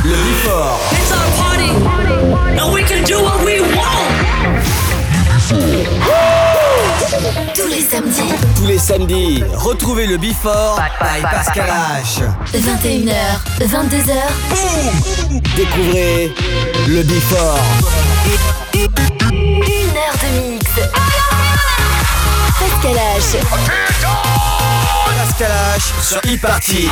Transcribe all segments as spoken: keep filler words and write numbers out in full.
Le Before. It's our party, and we can do what we want. Tous les samedis. Tous les samedis, retrouvez le Before by Pascal H. vingt et une heures, vingt-deux heures. Boum. Découvrez le Before. Une heure de mix. Pascal H. Pascal H sur e-party.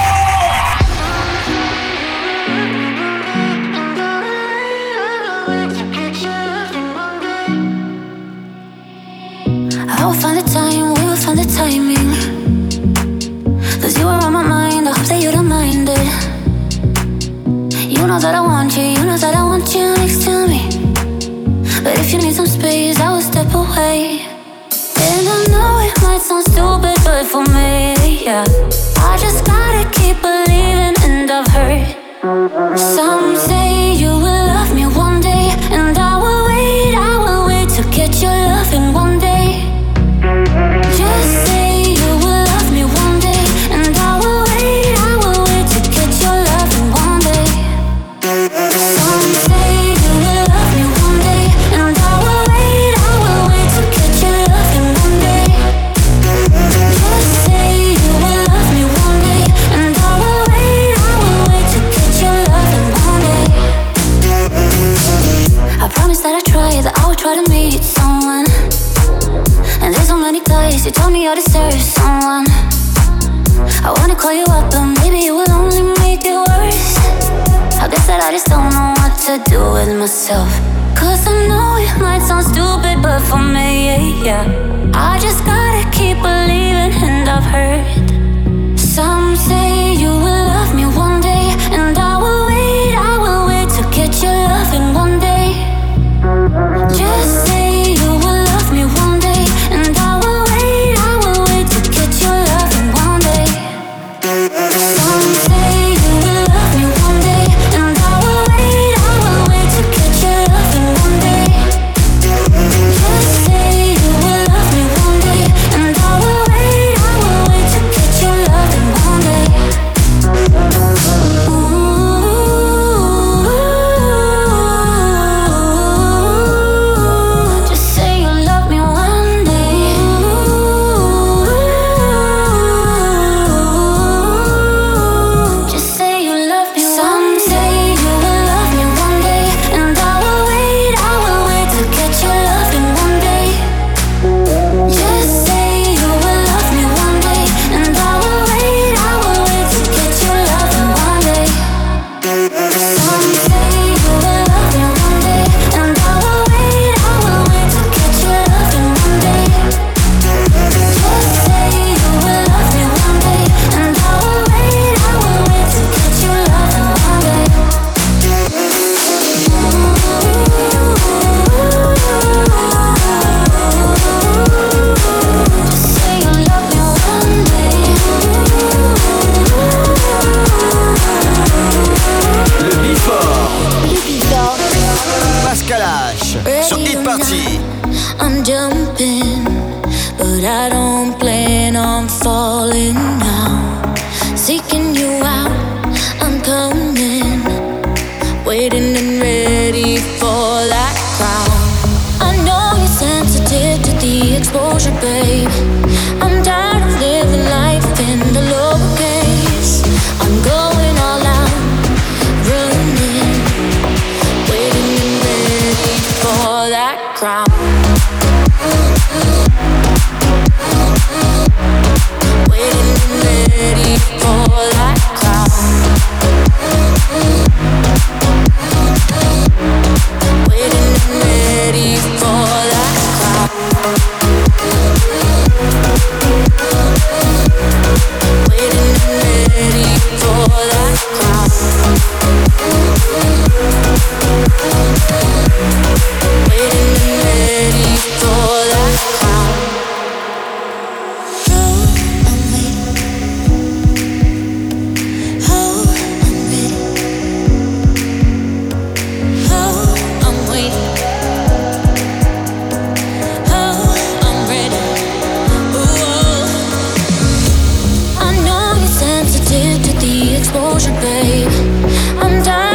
I will find the time, we will find the timing. Cause you are on my mind, I hope that you don't mind it. You know that I want you, you know that I want you next to me. But if you need some space, I will step away. And I know it might sound stupid, but for me, yeah, I just gotta keep believing, and I've heard some say you will love me one day. And I will wait, I will wait to get your loving one day. Just say you will love me one day, and I will wait, I will wait to get your loving one day. Some say you will love me one day, and I will wait, I will wait to get your loving one day. Just say you will love me one day, and I will wait, I will wait to get your loving one day. I promise that I try, that I will try to meet someone. And there's so many guys who told me I deserve someone. I wanna call you up, but maybe it will only make it worse. I guess that I just don't know what to do with myself. Cause I know it might sound stupid, but for me, yeah, I just gotta keep believing, and I've heard some say you will love me one day. And I will wait, I will wait to get your loving one day. Just say you will love me one day, and I will wait, I will wait to get your loving one day. Some say you will love me one day, and I will wait, I will wait to get your loving one day. Just say you will love me one day, and I will wait, I will wait to get your loving one day. Ooh, just say you love me one day. Just say you love me. Some say you will love me one day, and I will wait, I will wait to get your loving one day. Just say you will love me one day, and I will wait, I will wait to get your loving one day. Some say you will love me one day, and I will wait, I will wait to get your loving one day. Just say you will love me one day, and I will wait, I will wait to get your loving one day. Just say you love me one day. Le Before. Le Before. Pascal H sur e-party. I'm jumping, but I don't plan on falling now. Seeking you out, I'm coming, waiting and ready for that crown. I know you're sensitive to the exposure, babe. I'm tired of living life in the lowercase. I'm going all out, running, waiting and ready for that crown. Waiting and ready for that crown. Waiting and ready for that crown. Waiting and ready for that crown. Waiting and ready for that crown. exposure, babe. I'm dying.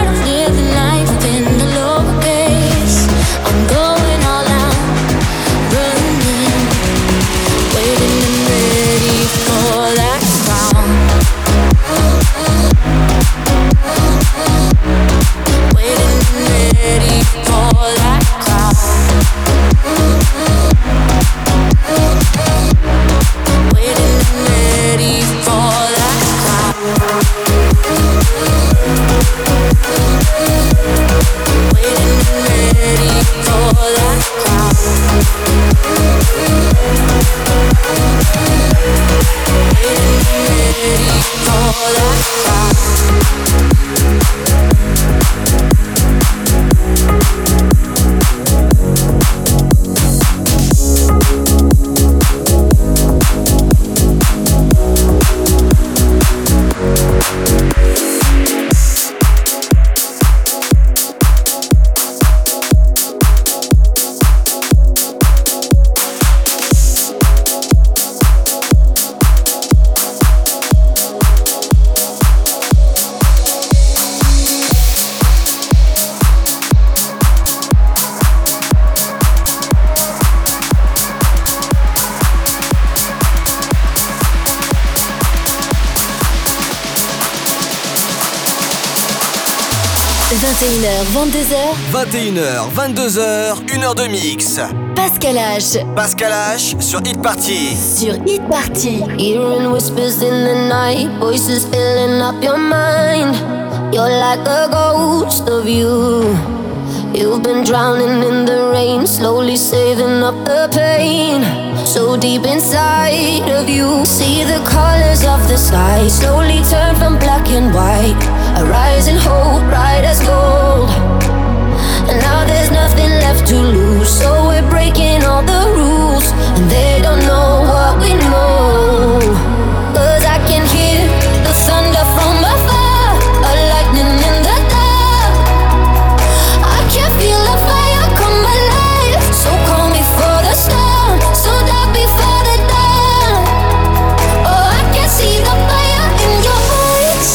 vingt et une heures, vingt-deux heures. vingt et une heures, vingt-deux heures, une heure de mix. Pascal H. Pascal H sur Hit Party. Sur Hit Party. Hearing whispers in the night, voices filling up your mind. You're like a ghost of you. You've been drowning in the rain, slowly saving up the pain. So deep inside of you, see the colors of the sky slowly turn from black and white. A rising hope, bright as gold. And now there's nothing left to lose, so we're breaking all the rules, and they don't know what we know. Cause I can hear the thunder from afar, a lightning in the dark. I can feel the fire come alive, so calm before the storm, so dark before the dawn. Oh, I can see the fire in your eyes,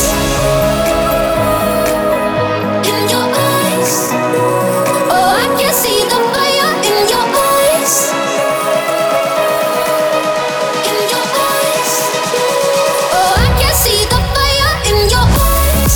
in your eyes. Oh, I can see the fire in your eyes, in your eyes. Oh, I can see the fire in your eyes.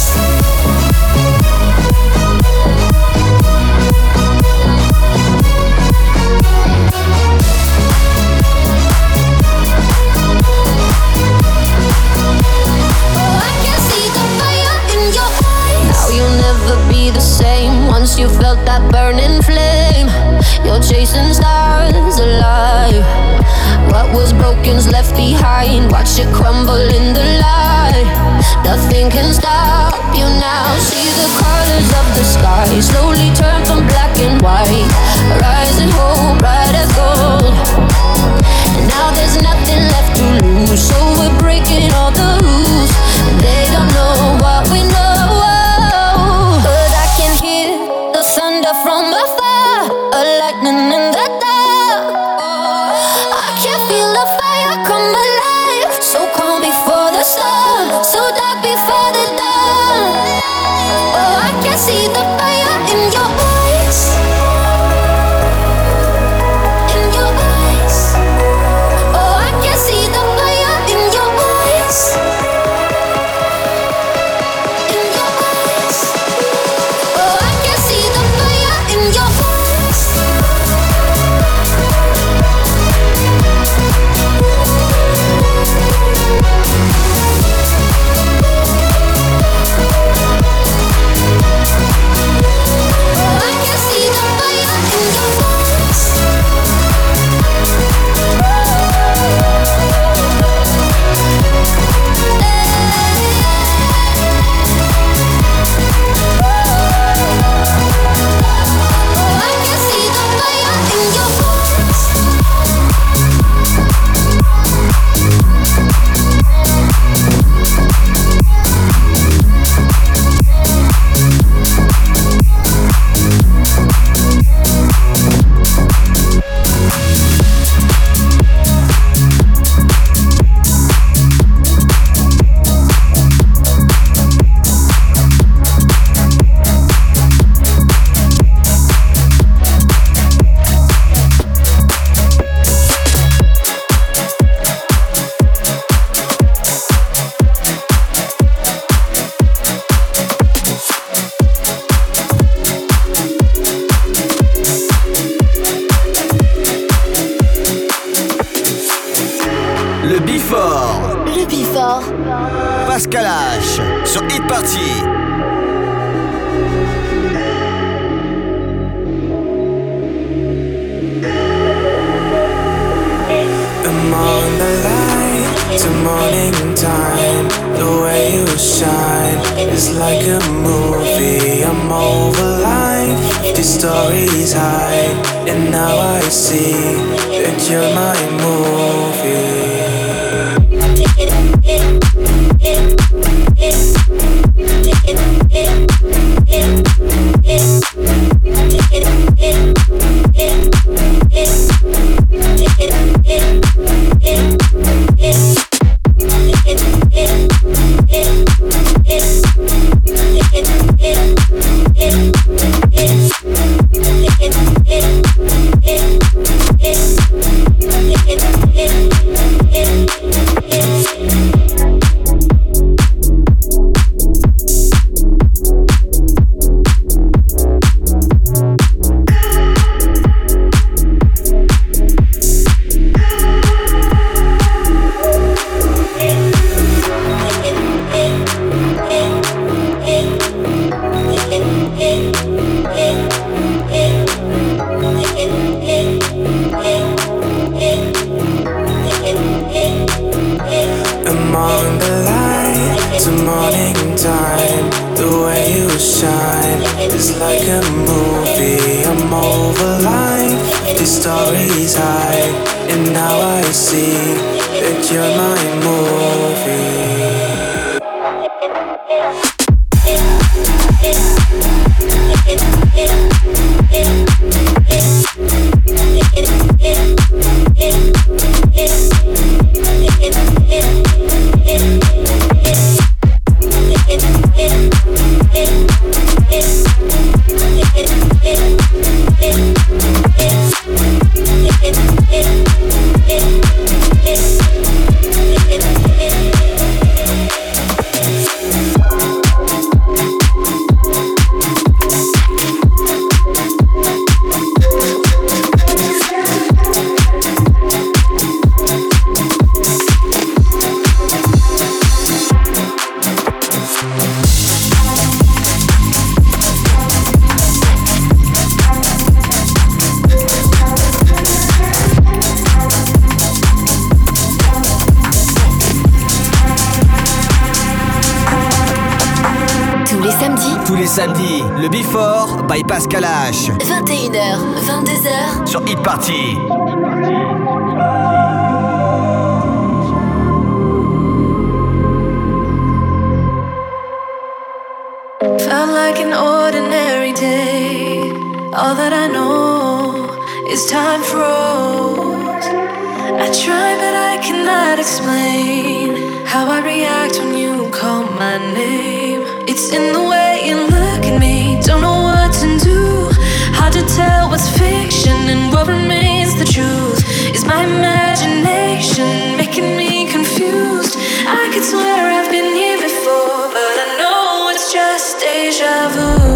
Oh, I can see the fire in your eyes. Now you'll never be the same once you felt that burning flame. You're chasing stars alive. What was broken's left behind. Watch it crumble in the light. Nothing can stop you now. See the colors of the sky slowly turn from black and white. Rising hope, bright as gold. And now there's nothing left to lose, so we're breaking all the rules, and they don't know what we know. But I can hear the thunder from afar, a lightning in the dark. I can feel the fire come alive, so calm before the storm, so dark before the dawn. Oh, I can see the fire in your eyes, in your eyes. Oh, I can see the fire in your eyes, in your eyes. Oh, I can see the fire in your eyes. Oh, I can see the fire in your eyes. Oh, I can see the fire in your eyes. Le Before. Le Before. Pascal H sur Hit Party. I'm on the line to morning time. The way you shine is like a movie. I'm over life, the stories hide, and now I see that you're my movie. Samedi, le Before by Pascal H. vingt et une heures, vingt-deux heures sur Hit Party. Felt like an ordinary day. All that I know is time froze. I try but I cannot explain how I react when you call my name. It's in the way you look at me, don't know what to do. Hard to tell what's fiction and what remains the truth. Is my imagination making me confused? I could swear I've been here before, but I know it's just deja vu.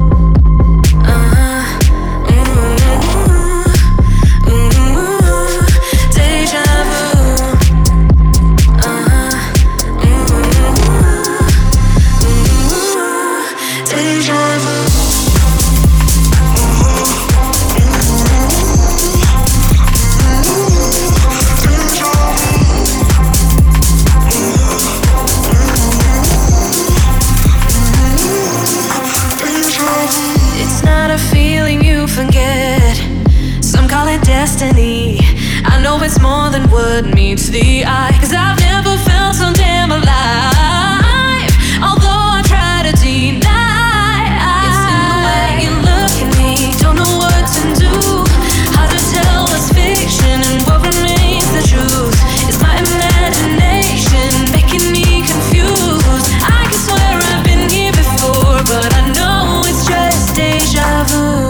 Destiny, I know it's more than what meets the eye. Cause I've never felt so damn alive, although I try to deny. It's in the way you look at me, don't know what to do. Hard to tell what's fiction and what remains the truth. Is my imagination making me confused? I can swear I've been here before, but I know it's just deja vu.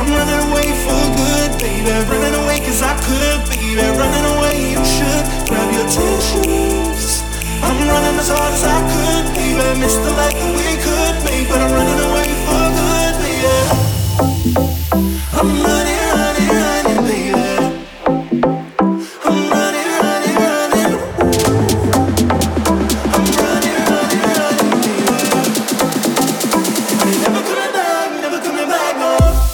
I'm running away for good, baby. Running away cause I could, baby. Running away, you should grab your tissues. I'm running as hard as I could, baby. Missed the life that we could make, but I'm running away for good, baby. I'm running, running, running, baby. I'm running, running, running. I'm running, running, running, baby. You're never coming back, never coming back, no.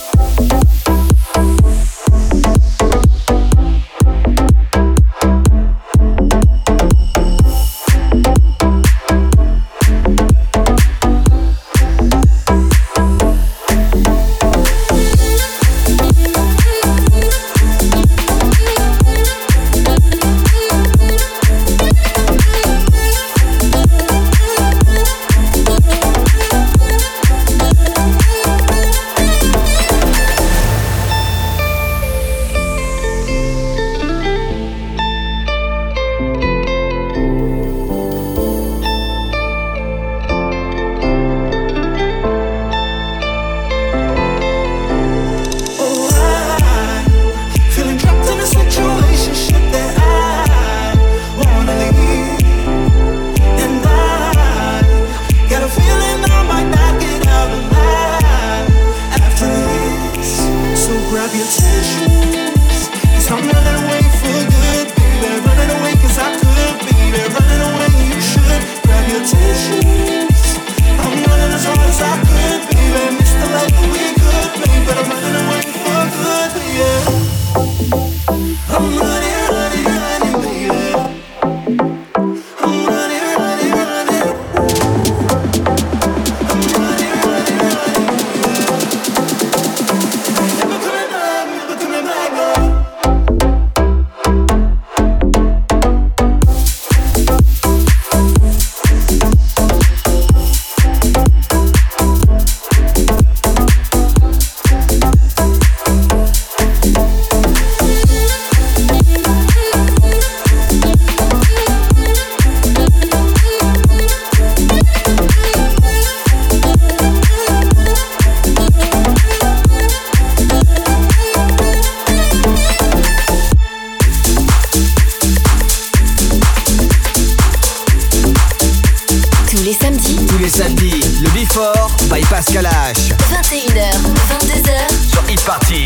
vingt et une heures, vingt-deux heures sur Hit Party.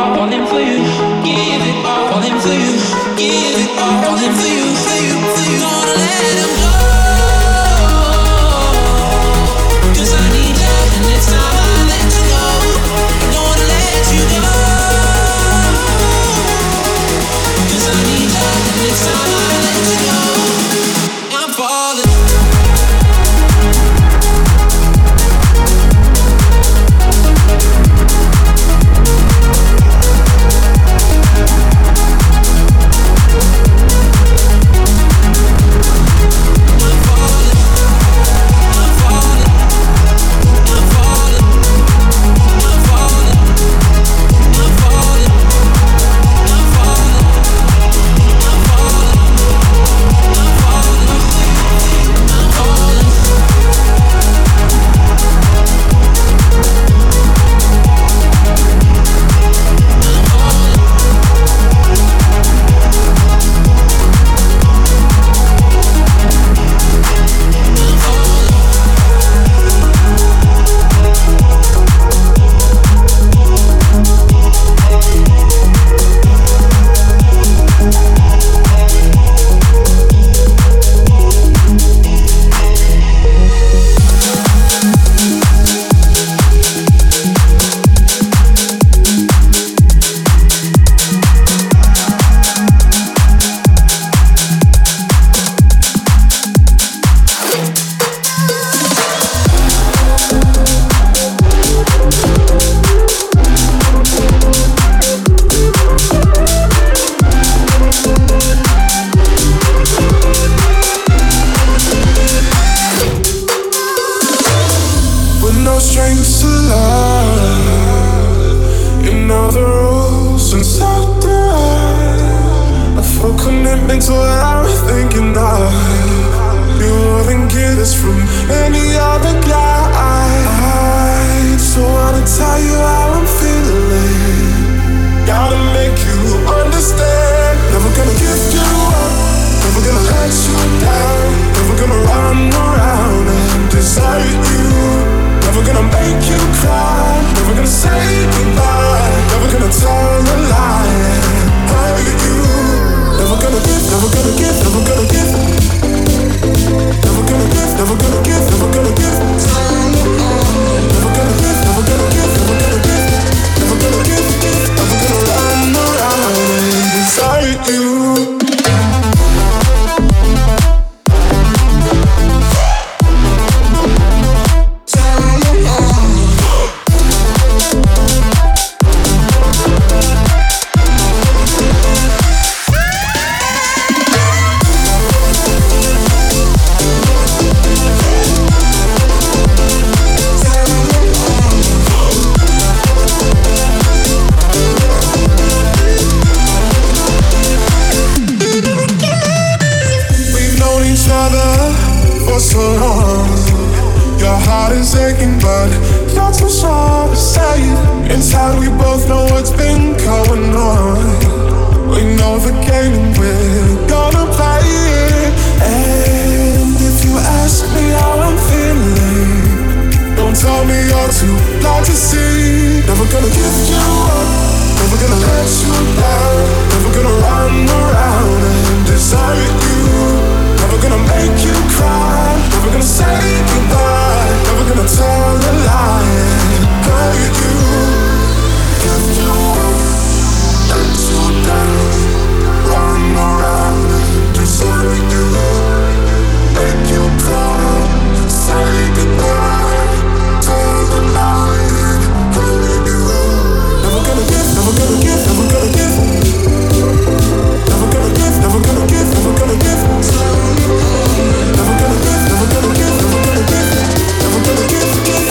Give it all in for you, give it all in for you, for you, for you. Gonna Never gonna give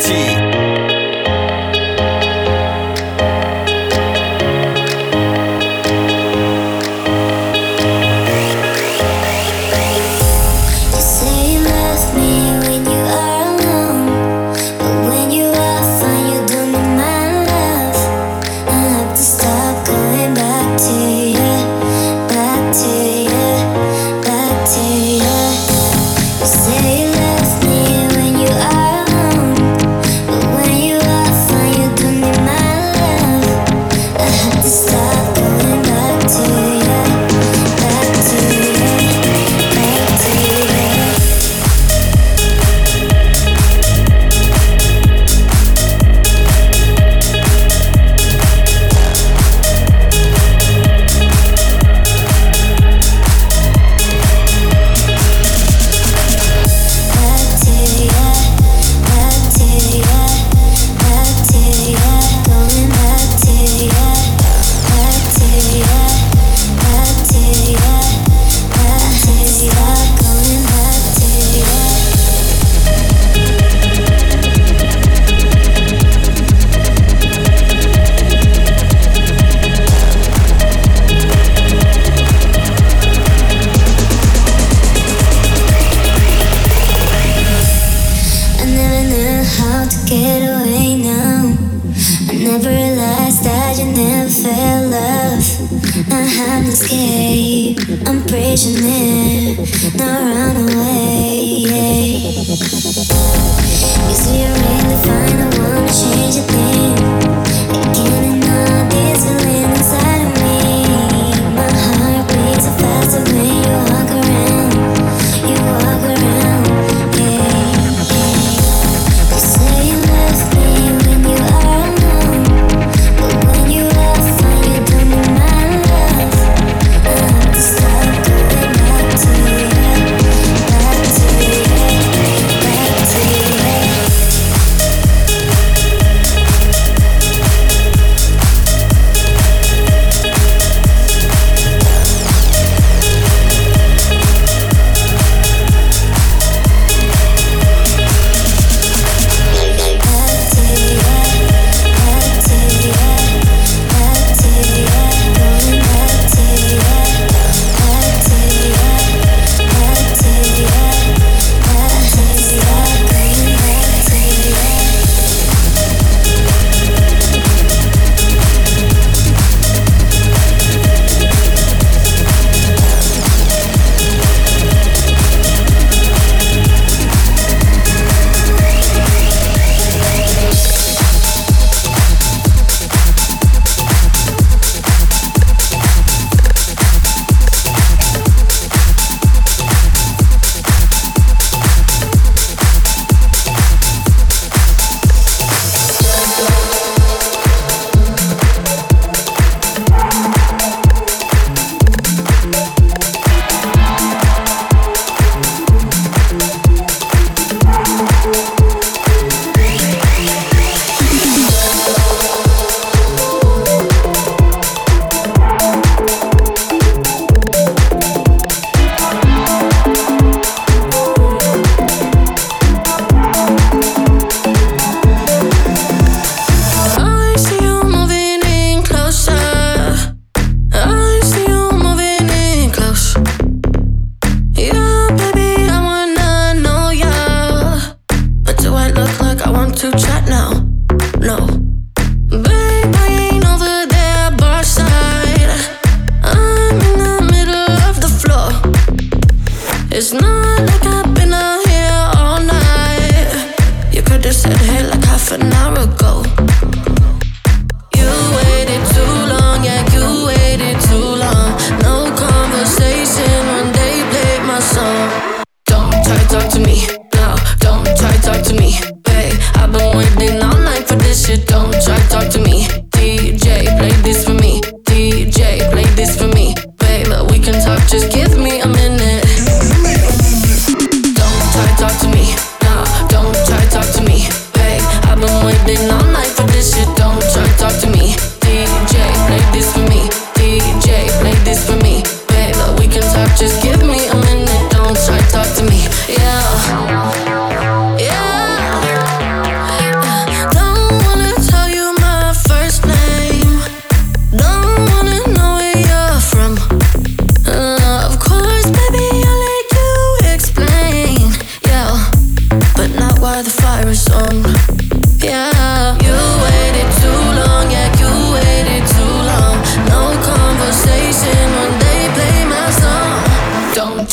T.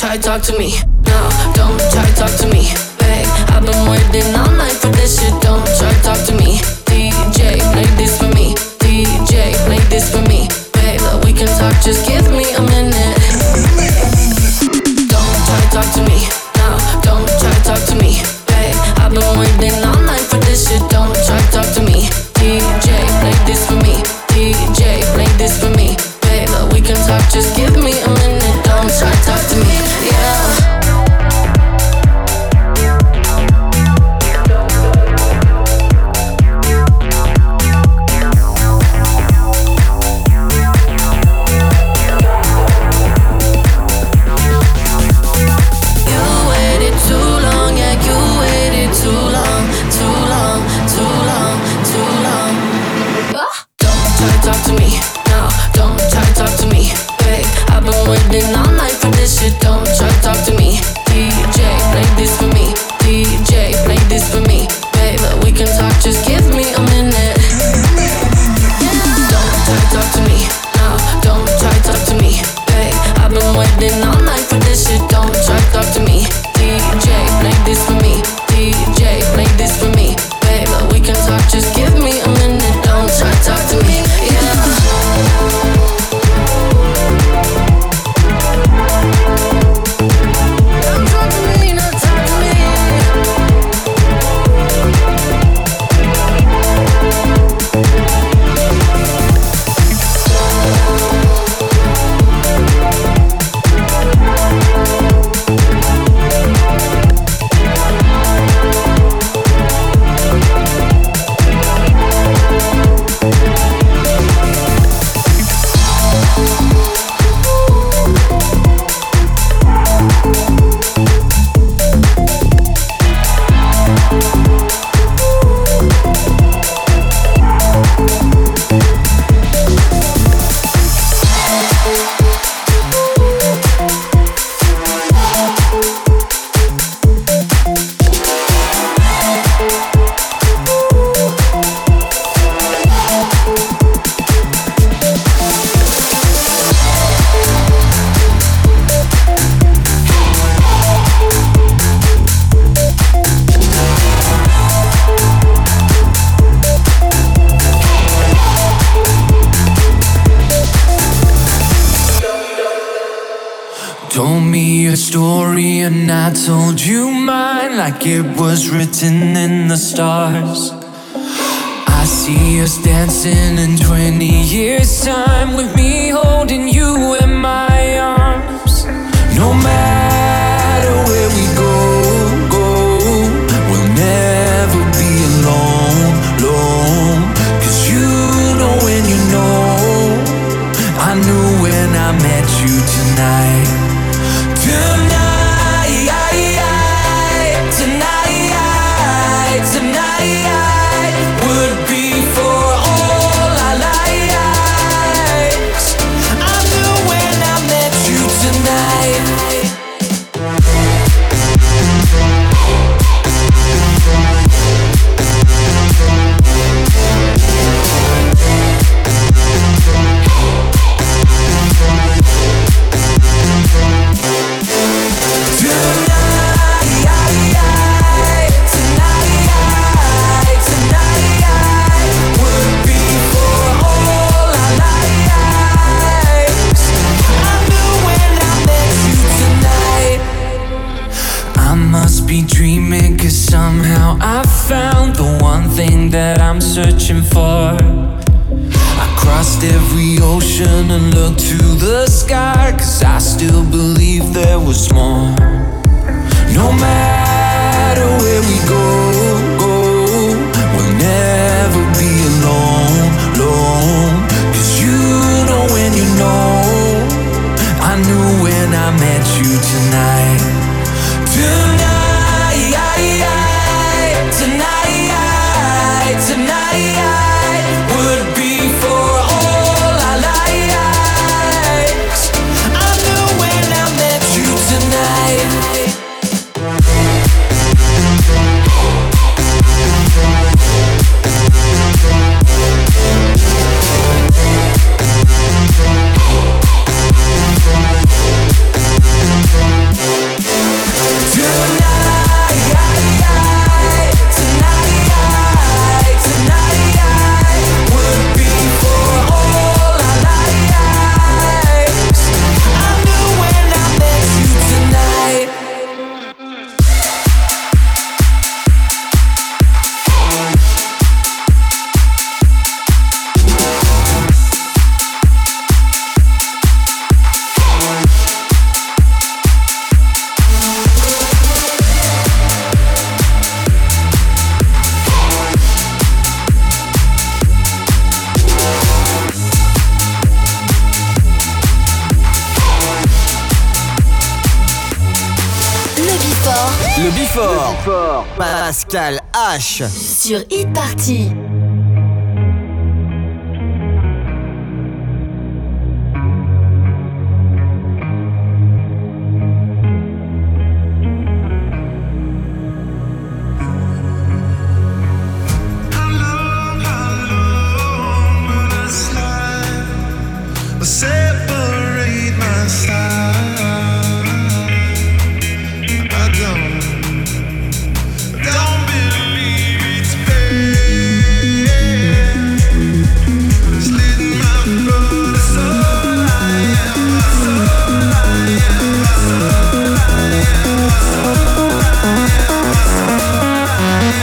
try talk to me. No, don't try talk to me. Babe, I've been waiting all night for this shit. Don't try talk to me. D J, play this for me. D J, play this for me. Babe, we can talk, just give me a minute. Don't try talk to me. No, don't try talk to me. Babe, I've been waiting all night for this shit. Don't try talk to me. D J, play this for me. D J, play this for me. Babe, we can talk, just give me a minute. Don't try talk to me, yeah. I told you mine like it was written in the stars. I see us dancing in twenty years time, with me holding you in my arms. No matter where we go, go, we'll never be alone, alone. Cause you know when you know, I knew when I met you tonight. Tonight that I'm searching for. I crossed every ocean and looked to the sky, cause I still believe there was more. No matter where we go, go, we'll never be alone, alone. Cause you know when you know, I knew when I met you tonight. Tonight, tonight, tonight would be for all our lives. I knew when I met you tonight. Le Before. Pascal H. Sur Hit Party. Separate my side. I don't, don't believe it's fair. Slitting my throat, that's all I am. That's all I am. That's all I am. That's all I am.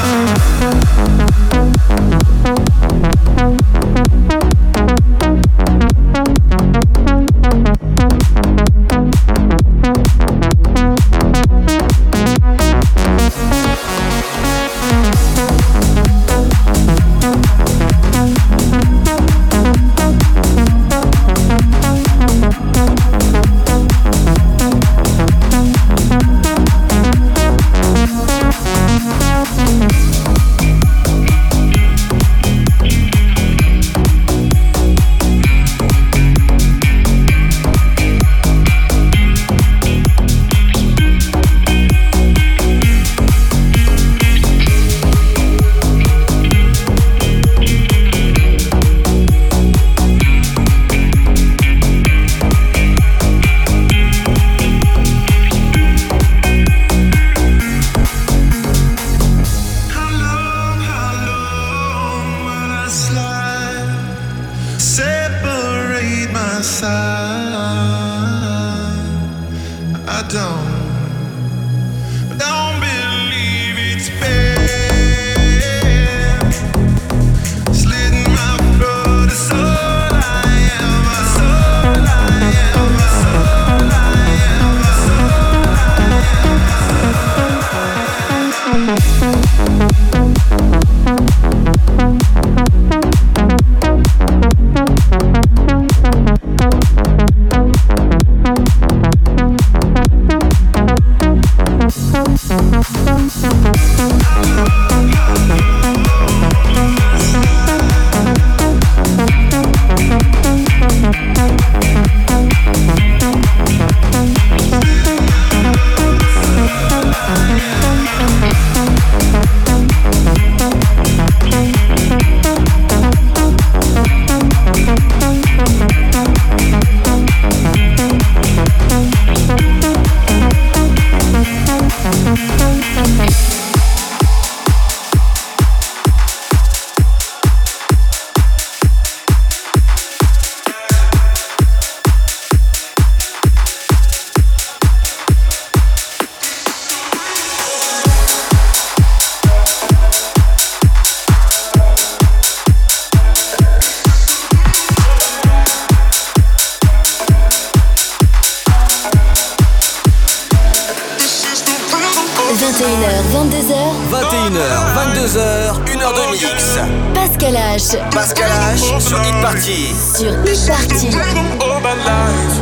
vingt et une heures, vingt-deux heures. vingt et une heures, vingt-deux heures, une heure de mix. Pascal H. Pascal H sur Hit Party. Sur Hit Party. Oh, my life,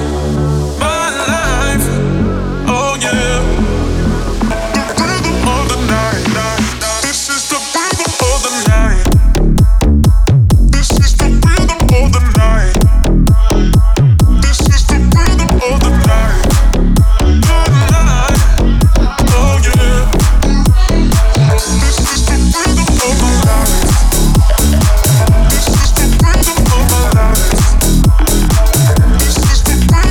my life, oh yeah. The rhythm of the night, night. This is the rhythm of the night. This is the rhythm of the night. This is the rhythm of the night. This is the rhythm of my life.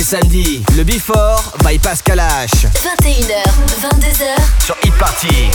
samedi, le Before by Pascal H. vingt et une heures, vingt-deux heures Sur Hit Party.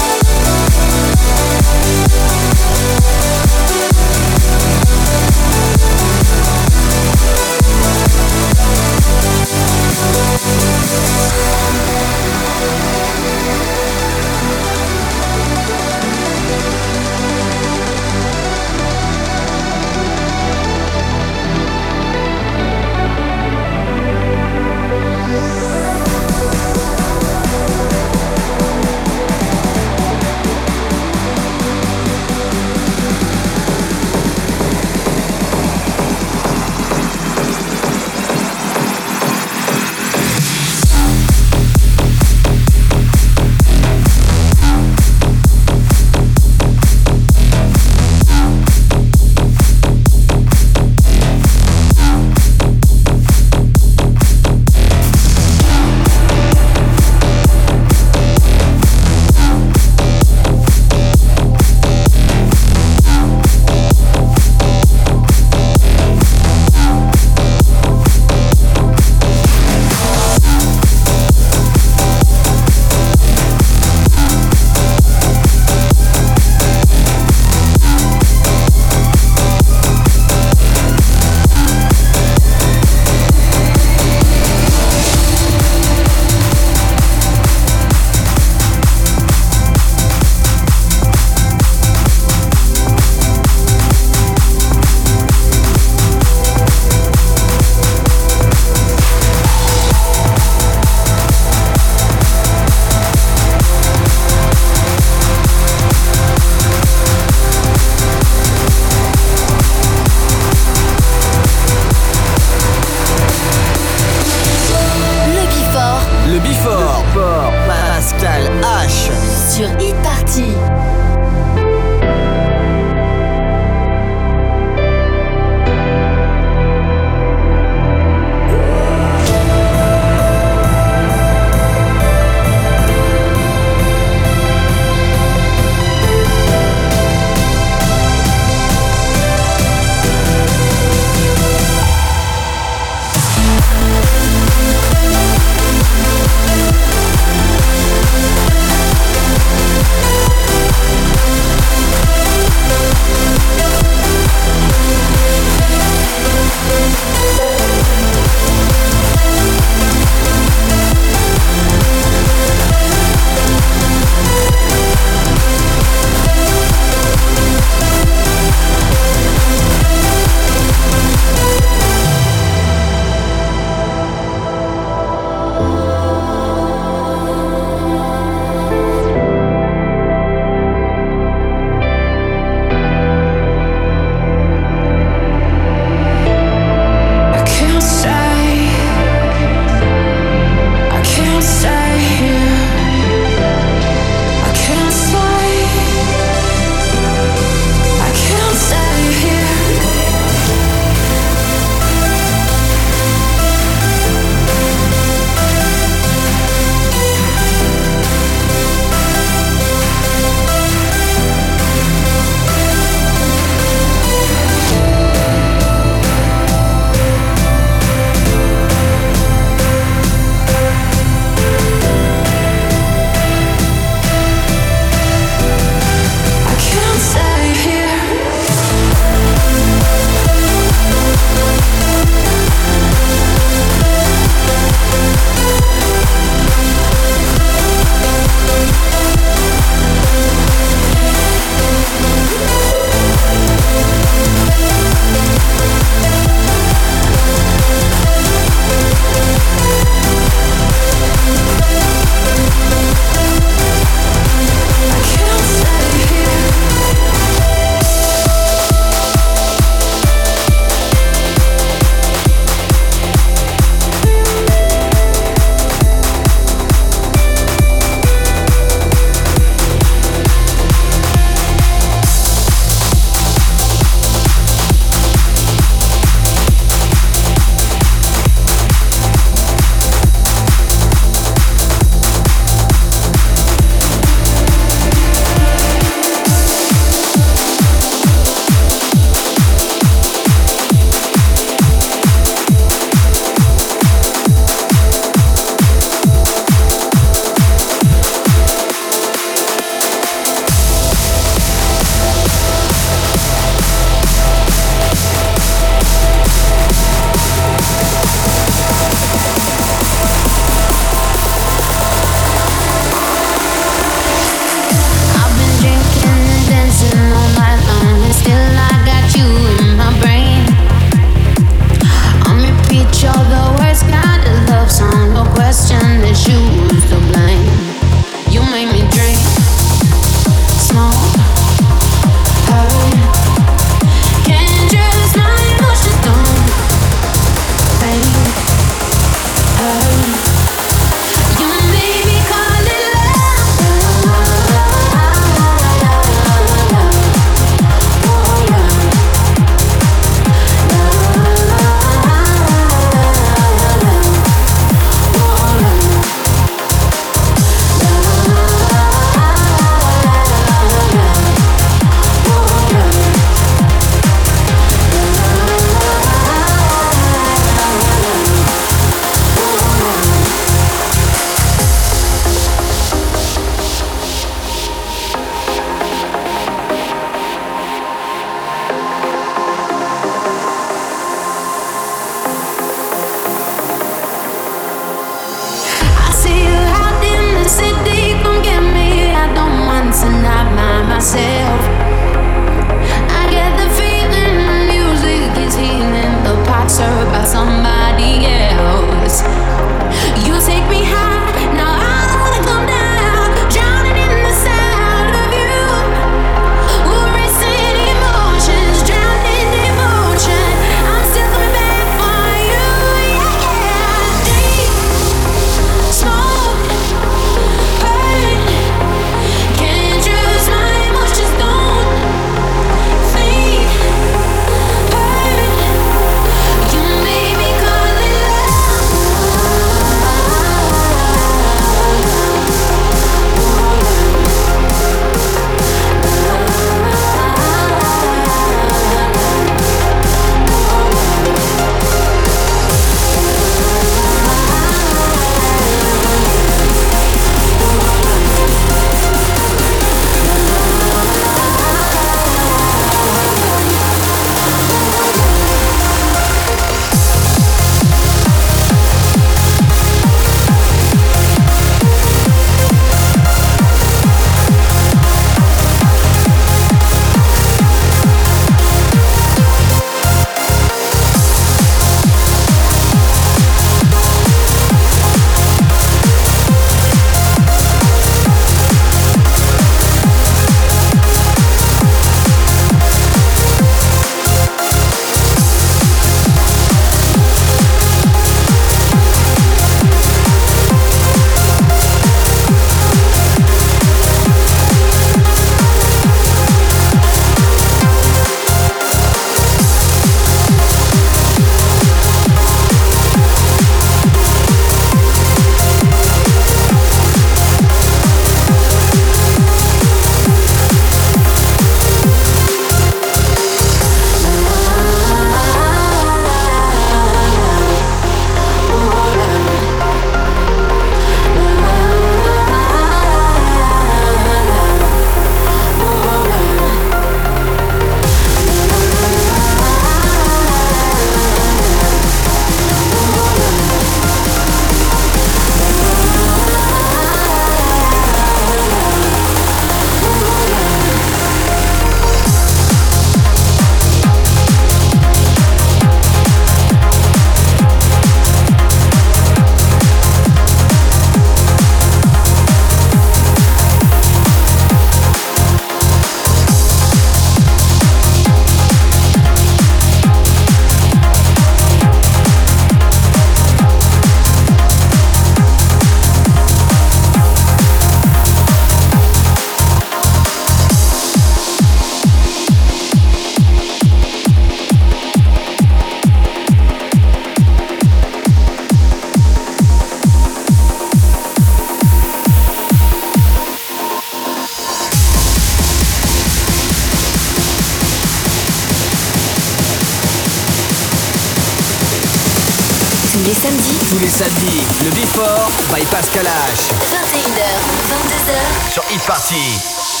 samedis. Tous les samedis, le Before by Pascal H. vingt et une heures, vingt-deux heures. Sur Hit Party.